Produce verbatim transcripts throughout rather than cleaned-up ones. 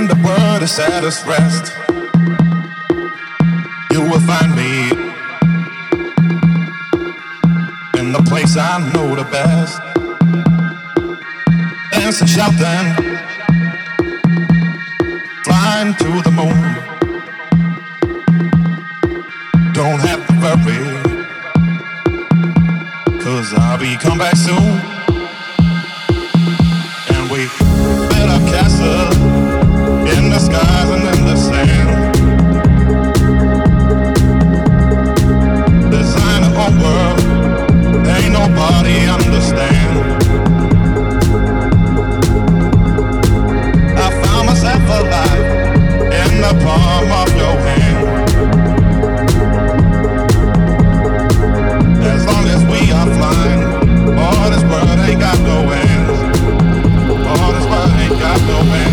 the world is at its rest, you will find me in the place I know the best. Dancing, shouting, flying to the moon. Don't have to worry, 'cause I'll be come back soon. And we built a castle in the skies and in the sand. Design a whole world, ain't nobody understand. I found myself alive in the palm of your hand. As long as we are flying, all this world ain't got no end. All this world ain't got no end.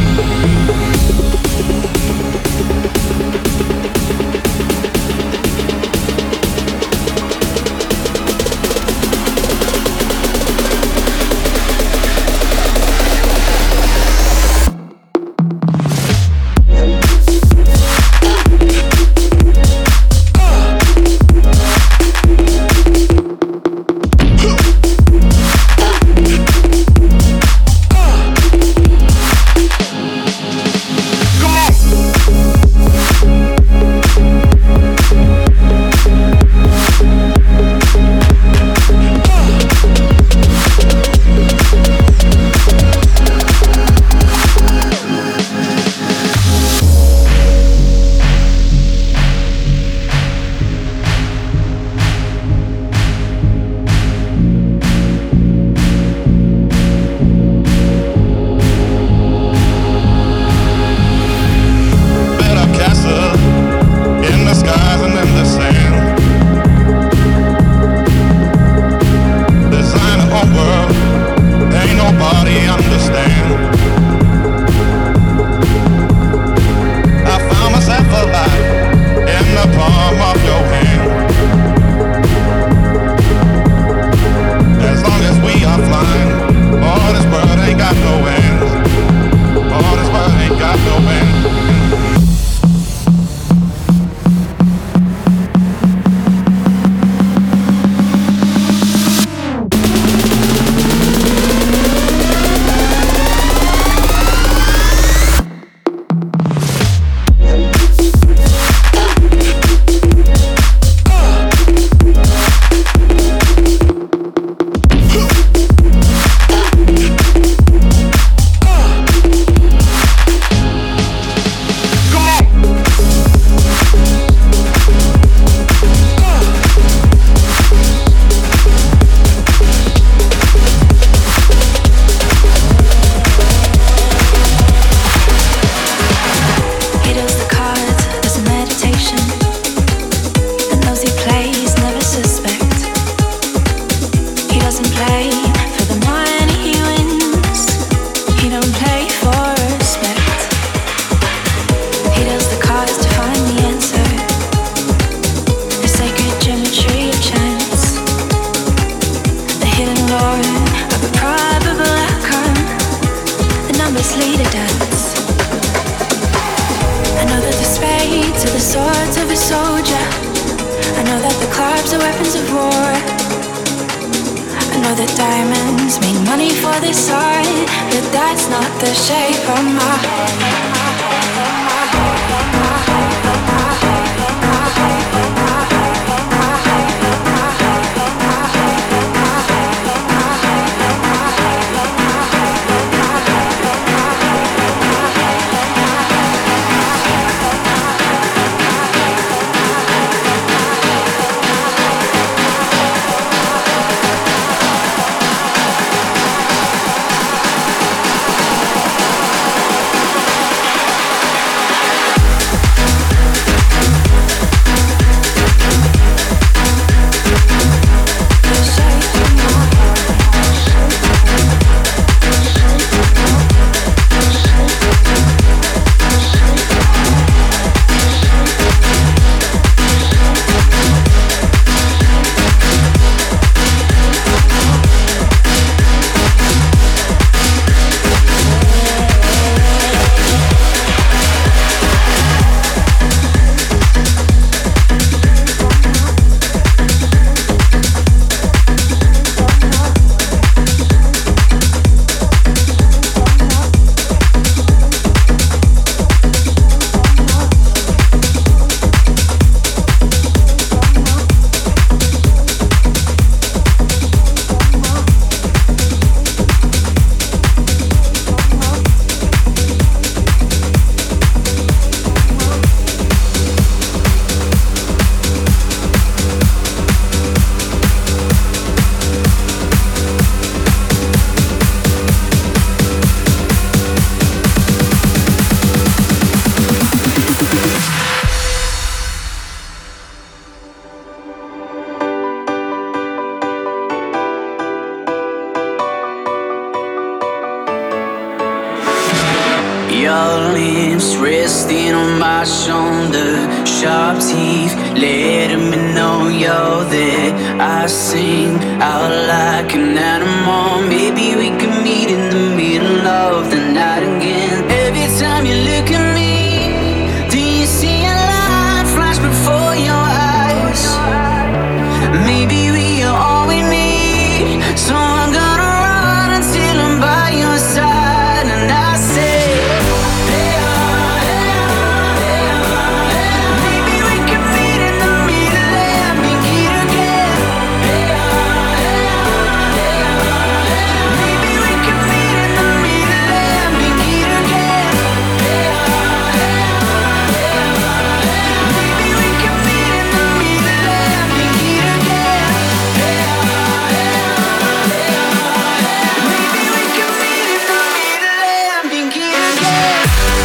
Your lips resting on my shoulder, sharp teeth letting me know you're there. I sing out like an animal. Maybe we can meet in the middle of the night again. Every time you look at me, do you see a light flash before your eyes? Maybe we are all we need, so I'm gonna run until I'm by your side. And I say, hey, ah, hey, ah, hey, ah, hey, ah. Maybe we can meet in the middle and begin again. Hey, ah, hey, ah, hey, ah, hey, ah. Maybe we can meet in the middle and begin again. Hey, ah, hey, ah, hey, ah, hey, ah. Maybe we can meet in the middle and begin again. Hey, ah, hey, ah, hey, ah, hey, ah. Maybe we can meet in the middle and begin again.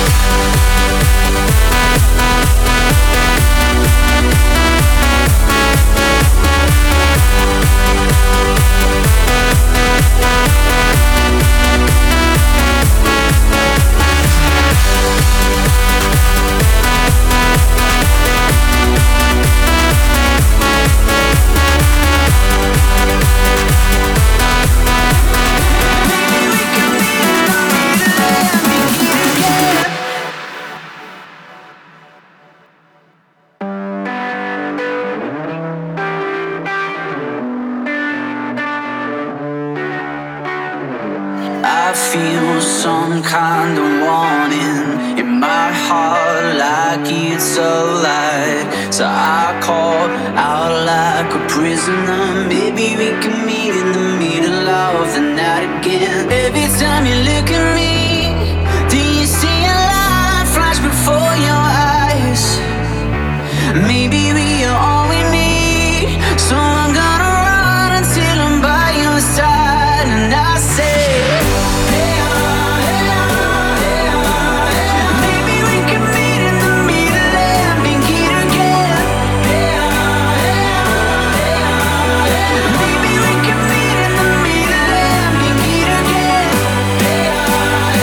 I feel some kind of warning in my heart, like it's alive. So I call out like a prisoner. Maybe we can meet in the middle of the night again. Every time you look at me, do you see a light flash before your eyes? Maybe we are all we need, so I'm gonna run until I'm by your side. And I say, hey, ah, hey, ah, hey, ah, hey, ah. Maybe we can meet in the middle and begin again. Hey, ah, hey, ah, hey, ah, hey, ah. Maybe we can meet in the middle and begin again. Hey, ah,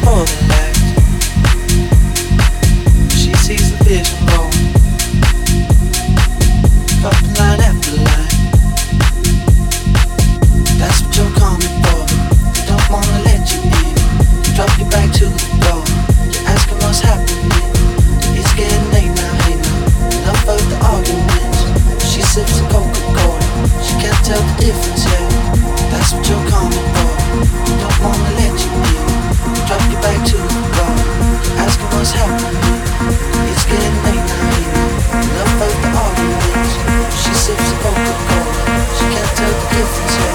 for the last. She sees the vision roll, dropping line after line. That's what you're coming for. They don't wanna let you in. You drop your back to the door. You're asking what's happening. It's getting late now, hey now. Enough of the arguments. She sips a Coca-Cola. She can't tell the difference yet. That's what you're coming for. They don't wanna let you in. You drop your back to the door. You're asking what's happening. It's getting late now, hey now. Enough of the arguments. She sips a Coca-Cola. She can't tell the difference yet.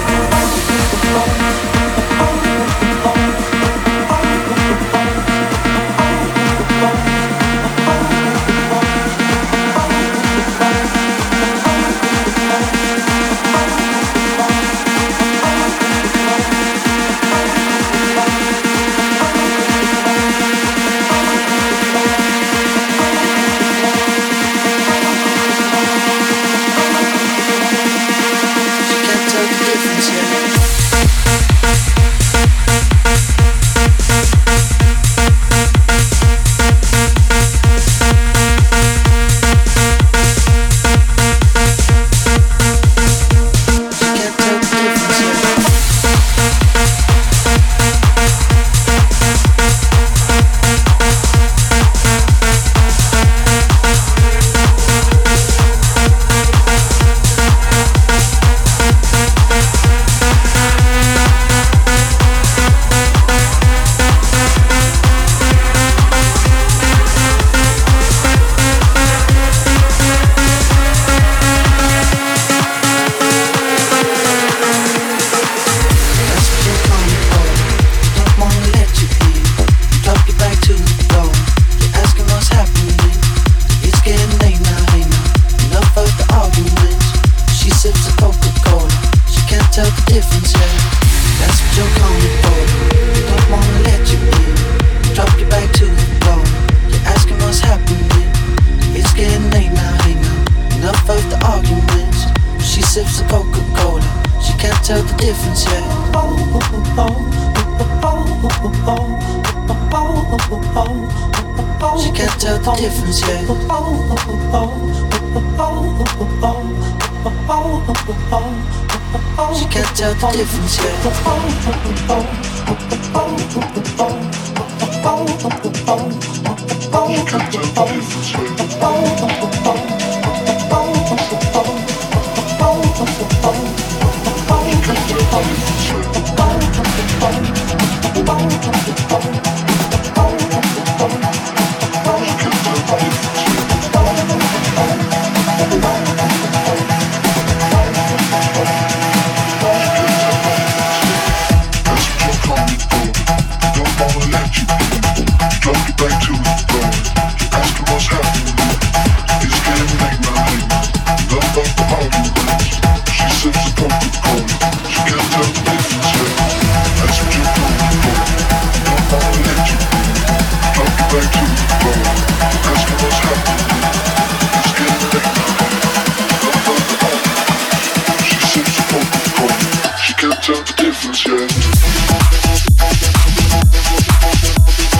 Can't tell the difference yet.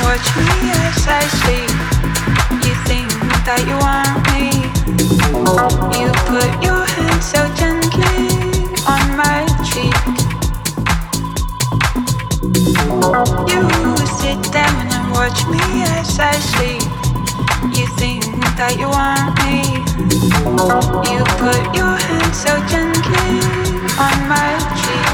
watch me as I sleep. You think that you want me. You put your hand so gently on my cheek. You sit down and watch me as I sleep. You think that you want me. You put your hand so gently on my cheek.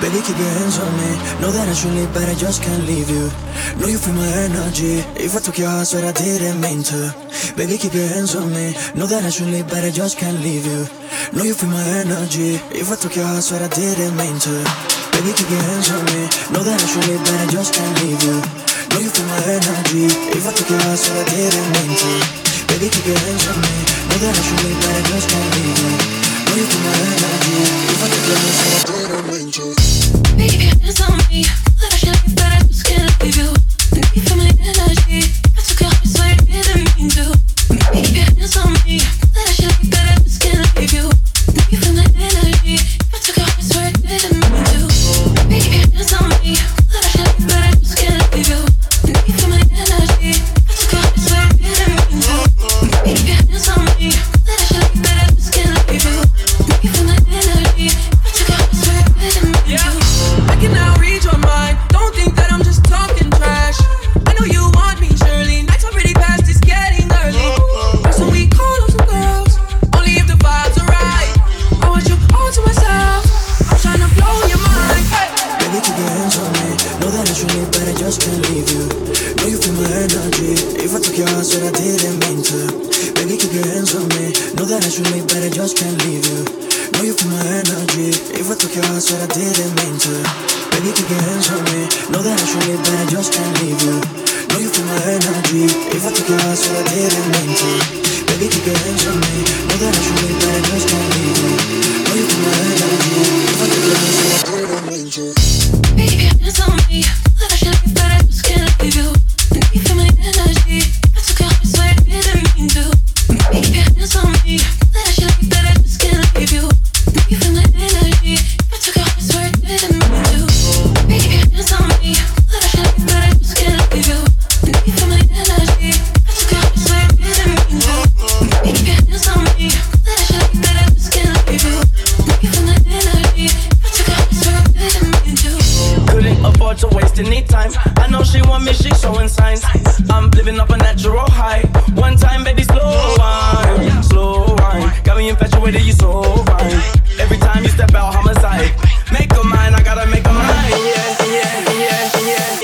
Baby, keep your hands on me. Know that I should leave, but I just can't leave you. Know you feel my energy. If I took your heart, swear I didn't mean to. Baby, keep your hands on me. Know that I should leave, but I just can't leave you. Know you feel my energy. If I took your heart, swear I didn't mean to. Baby, keep your hands on me. Know that I should leave, but I just can't leave you. Know you feel my energy. If I took your heart, swear I didn't mean to. Baby, keep your hands on me. Know that I should leave, but I just can't leave you. Know you feel my energy. If I took your heart, swear I didn't mean to. Baby, keep your hands on me. That I should leave, but I just can't leave you. And you feel my energy. I took your heart, swear I didn't mean to. Baby, keep your hands on me. That I should leave, but I just can't leave you. And you feel my energy. I took your heart, swear I didn't mean to. Baby, keep your hands on me. That I should leave, but I just can't leave you. And you feel my energy. I took your heart, swear I didn't mean to. Baby, keep your hands on me. That I should leave, but I just can't leave you. And you feel my energy. I took your heart, swear I didn't mean to. I can now read your mind. Don't think that I'm just talking trash. I know you want me, surely. Nights already past, it's getting early. So we call up some girls, only if the vibes are right. I want you all to myself. I'm trying to blow your mind. Hey. Baby, keep your hands on me. Know that I should leave, but I just can't leave you. Know you feel my energy. If I took your heart, swear I didn't mean to. Baby, keep your hands on me. Know that I should leave, but I just can't leave you. Know you feel my energy. If I took your heart, swear I didn't mean to. Baby, keep your hands on me. Know that I should leave, but I just can't leave you. Know you feel my energy. If I took your heart, swear I didn't mean to. Baby, keep your hands on me. Know that I should leave, but I just can't leave you. Know you feel my energy. If I took your heart, swear I didn't mean to. Baby, keep your hands on me. That I should leave, but I just can't leave you. And you feel my energy. I took your heart, swear I didn't mean to. Baby, keep your hands on me. That I should leave, but I just can't leave you. And you feel my energy. I took your heart, swear I didn't mean to. Baby, keep your hands on me. That I should leave, but I just can't leave you. And you feel my energy. I took your heart, swear I didn't mean to. Baby, keep your hands on me. That I should leave, but I just can't leave you. And you feel my energy. I took your heart, swear I didn't mean to. Couldn't afford to waste any time. I know she want me, she showing signs. I'm living up a natural high. One time, baby, slow wine, slow wine. Got me infatuated, you so fine. Every time you step out, homicide. Make a mind, I gotta make a mind. Yeah, yeah, yeah, yeah,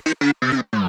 yeah.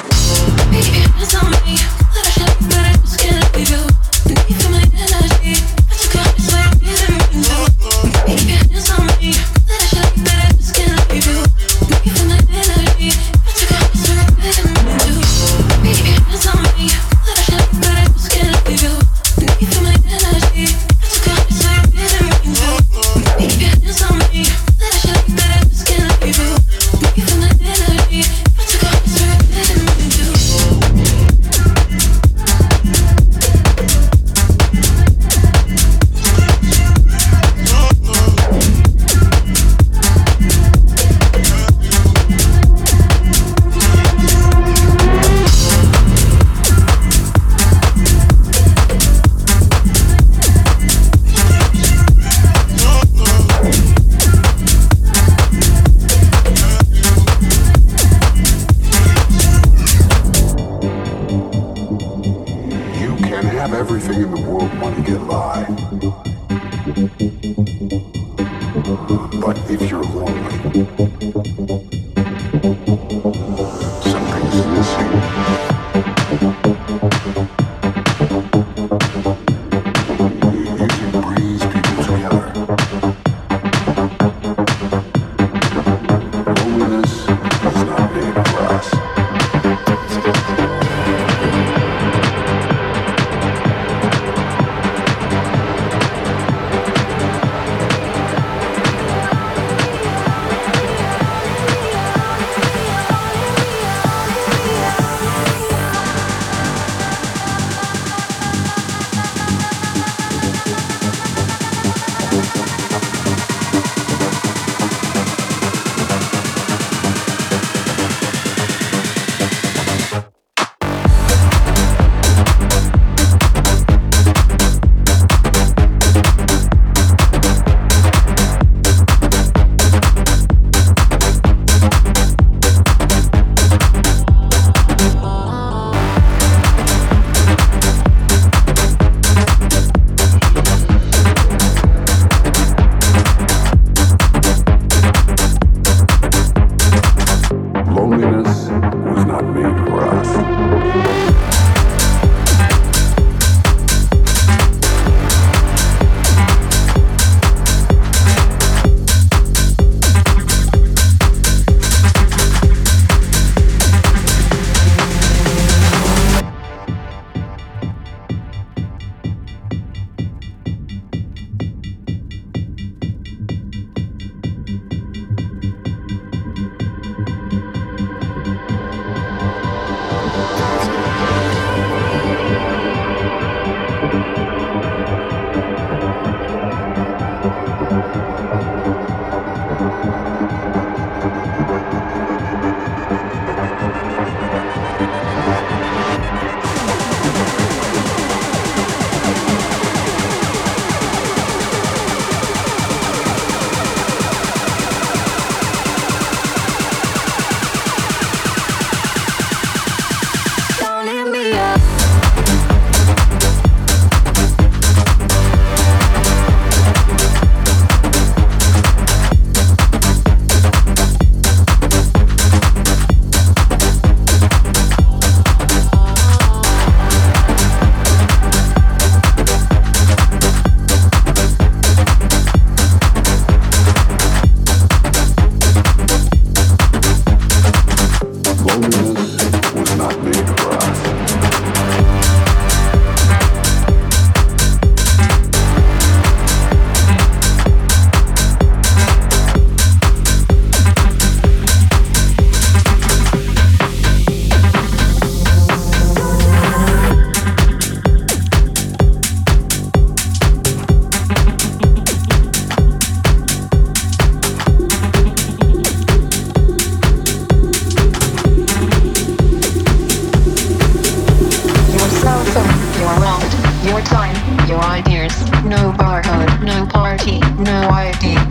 Baby, keep your hands on me. That I should leave, but I just can't leave you. And you feel my energy. I took your heart, swear I didn't mean to. Baby, keep your hands on me. That I should leave, but I just can't leave you. And you feel my energy. I took your heart, swear I didn't mean to. Baby, keep your hands on me. That I should leave, but I just can't leave you. And you feel my energy. I took your heart, swear I didn't mean to. Baby, keep your hands on me. That I should leave, but I just can't leave you. And you feel my energy. I took your heart, swear I didn't mean to. You can have everything in the world, money can lie. But if you're lonely, something's missing. You can breeze people together. Loneliness is not made for us.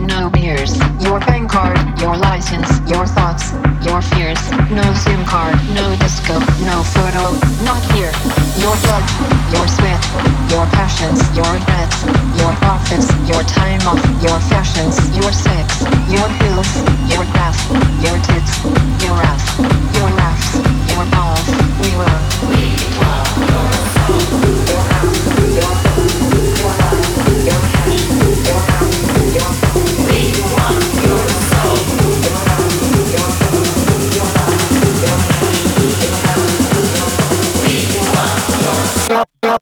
no beers. Your bank card, your license, your thoughts, your fears. No SIM card, no disco, no photo, not here. Your blood, your sweat, your passions, your regrets, your profits, your time off, your fashions, your sex, your pills, your graph, your tits, your ass, your laughs, your balls. We were. We were your soul, your house, your home, your life, your cash, your house, your phone. We want your soul, your house, your home, your life, your cash, your house, your phone. We want your soul.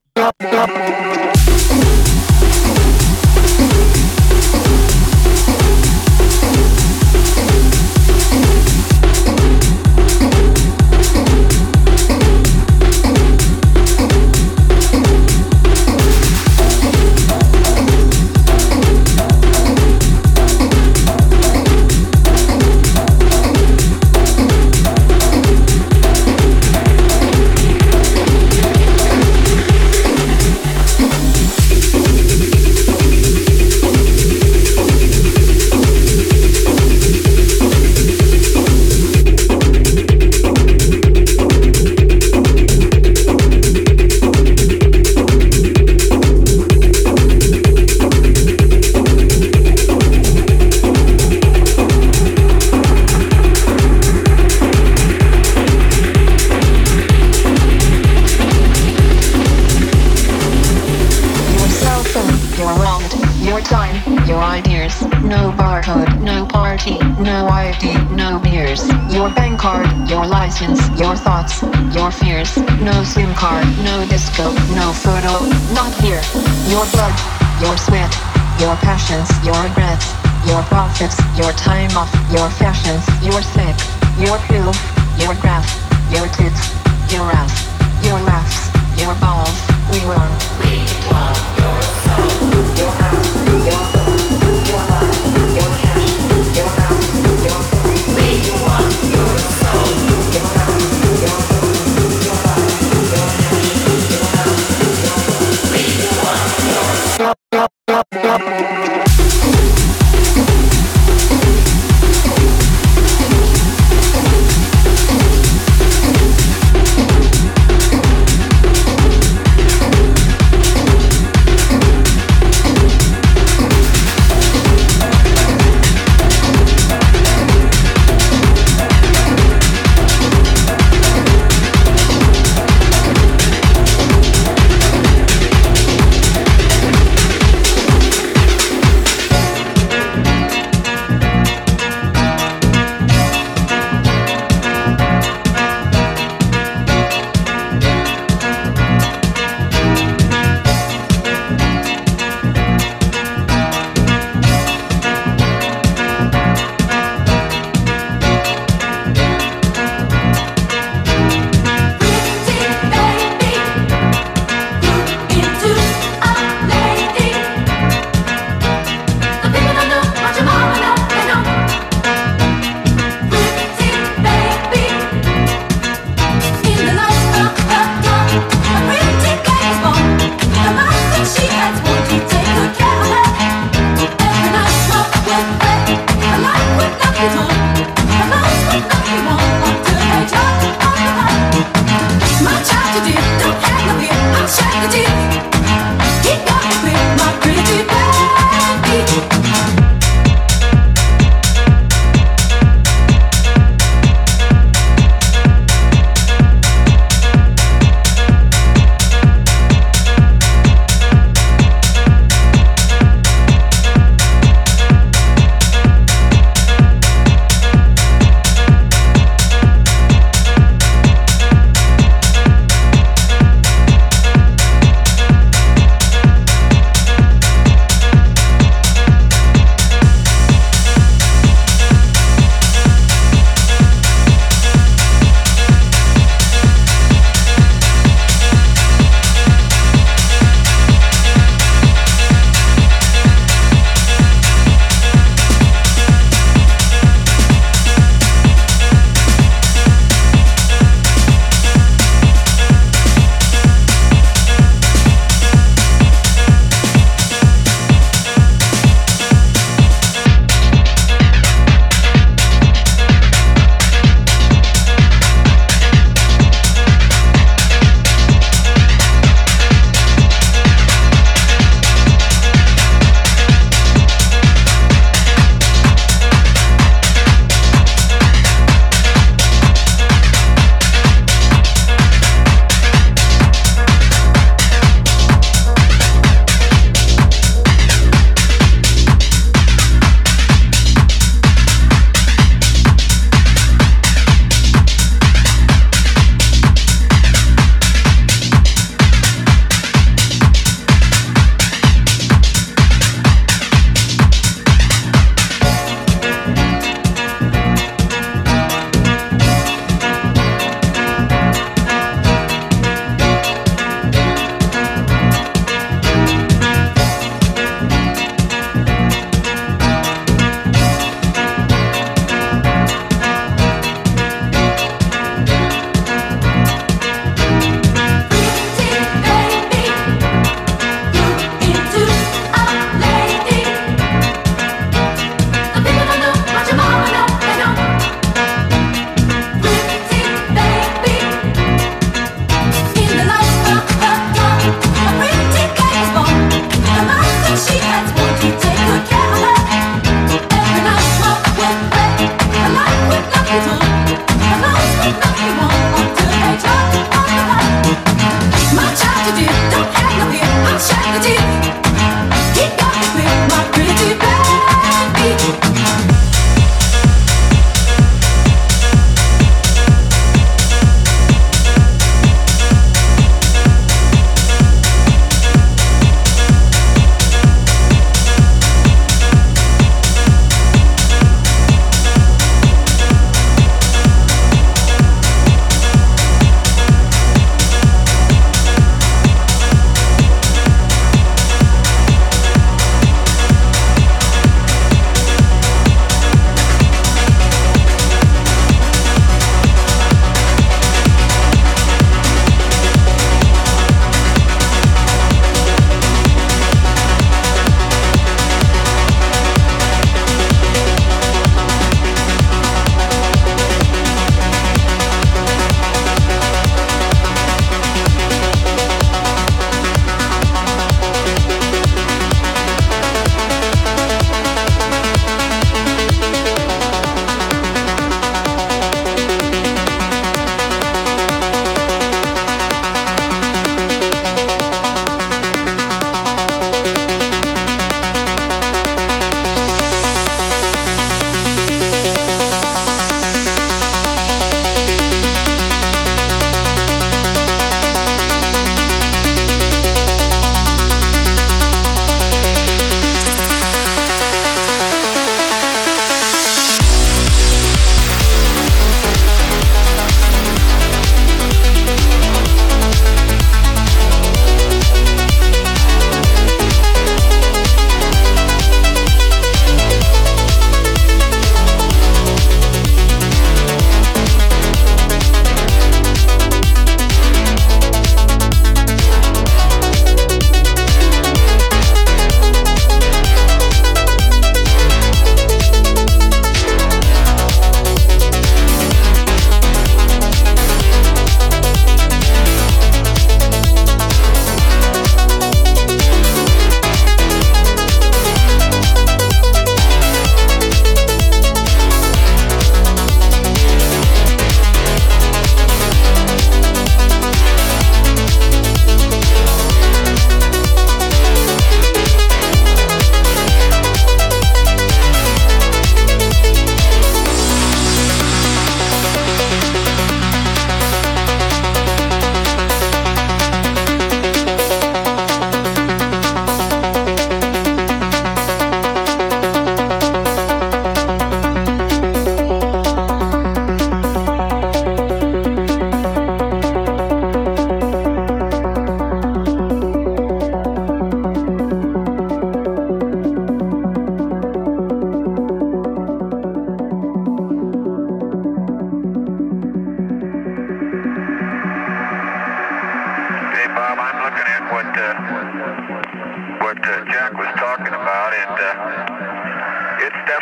Your thoughts, your fears. No SIM card, no disco, no photo, not here. Your blood, your sweat, your passions, your regrets, your profits, your time off, your fashions, your sex, your pill, your graph, your tits, your ass, your laughs, your balls. We were. We want your soul, your house, your home, your life, your cash, your house, your phone. We want your soul, your house.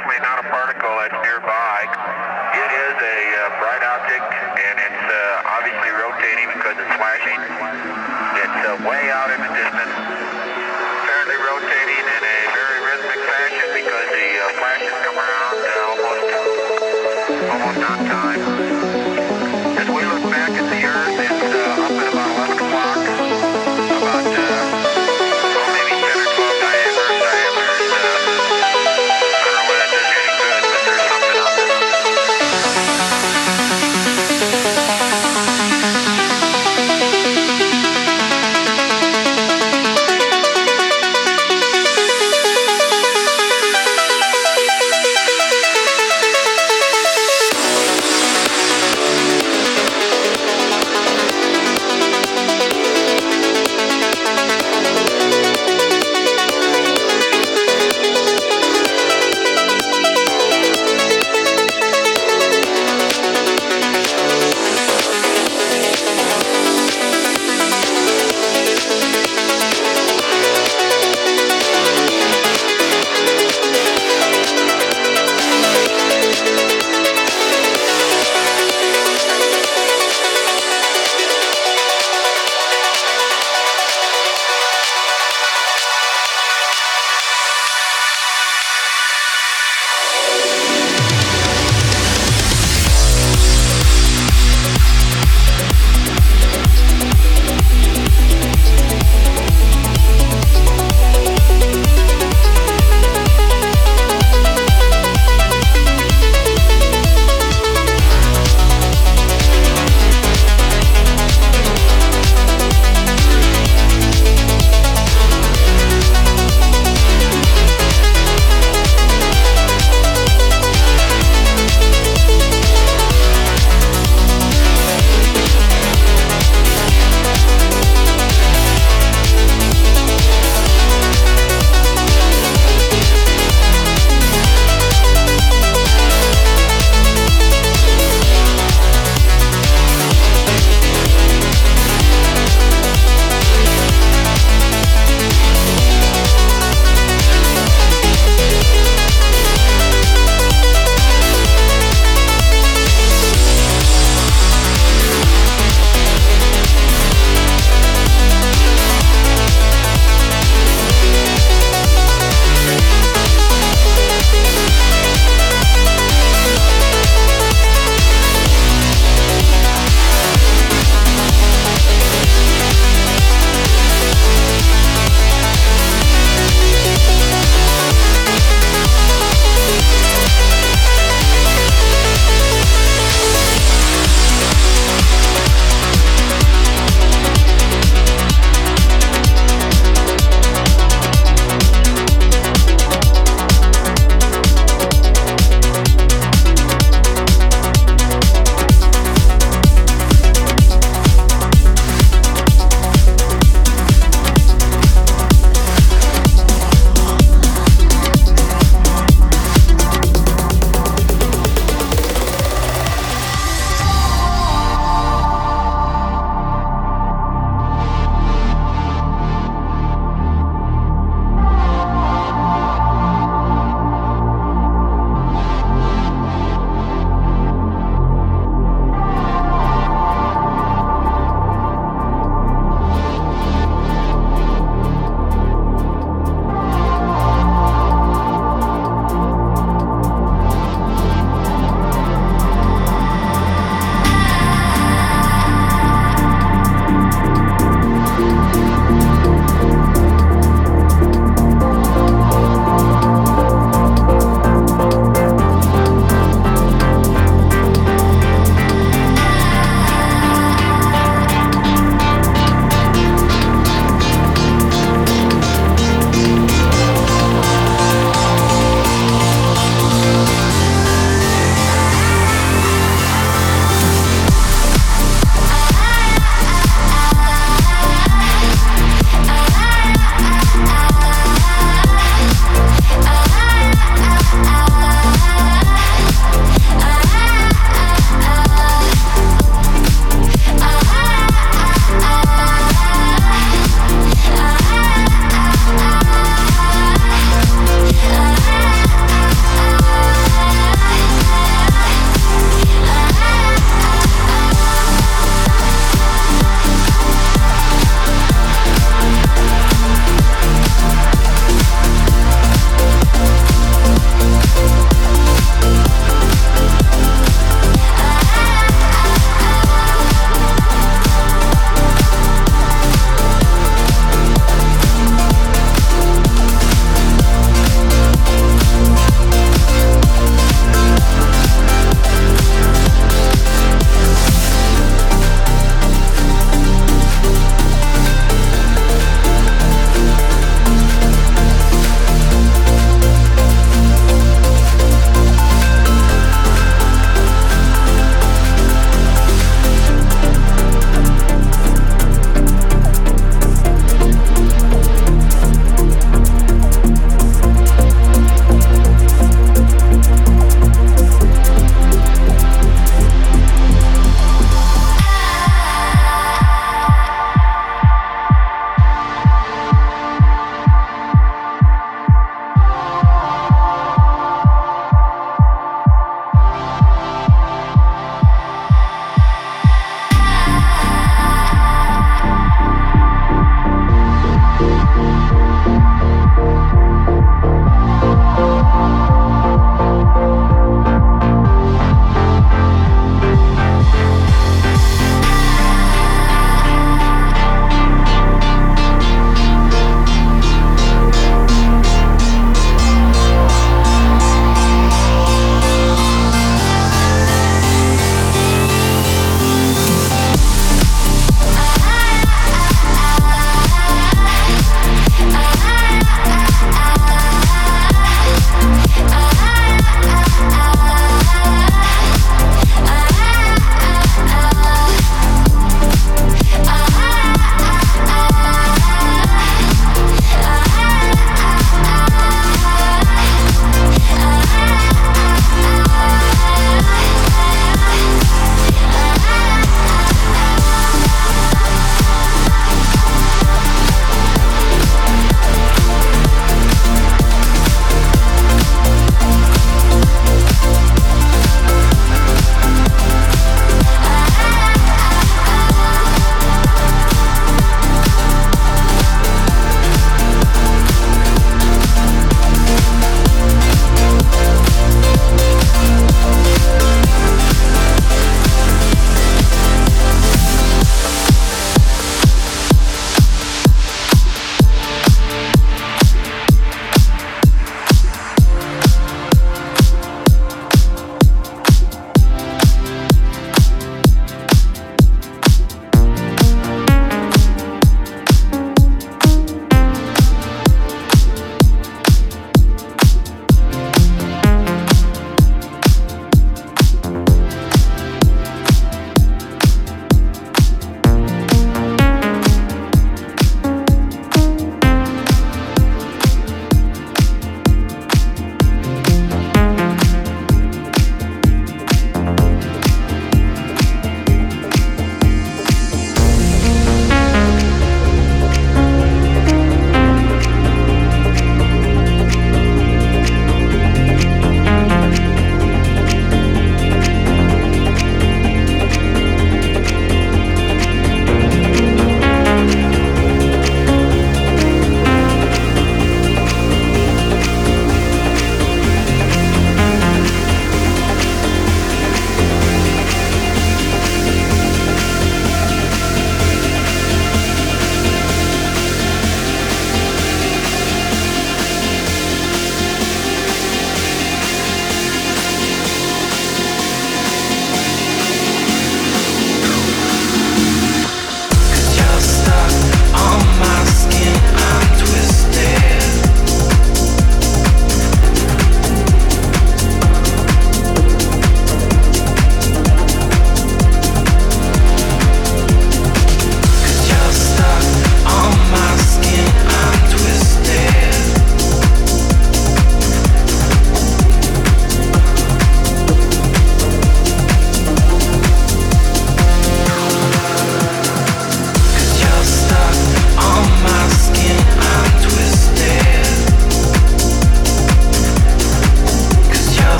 unfortunately not a particle that's nearby. It is a uh, bright object, and it's uh, obviously rotating because it's flashing. It's uh, way out in the distance.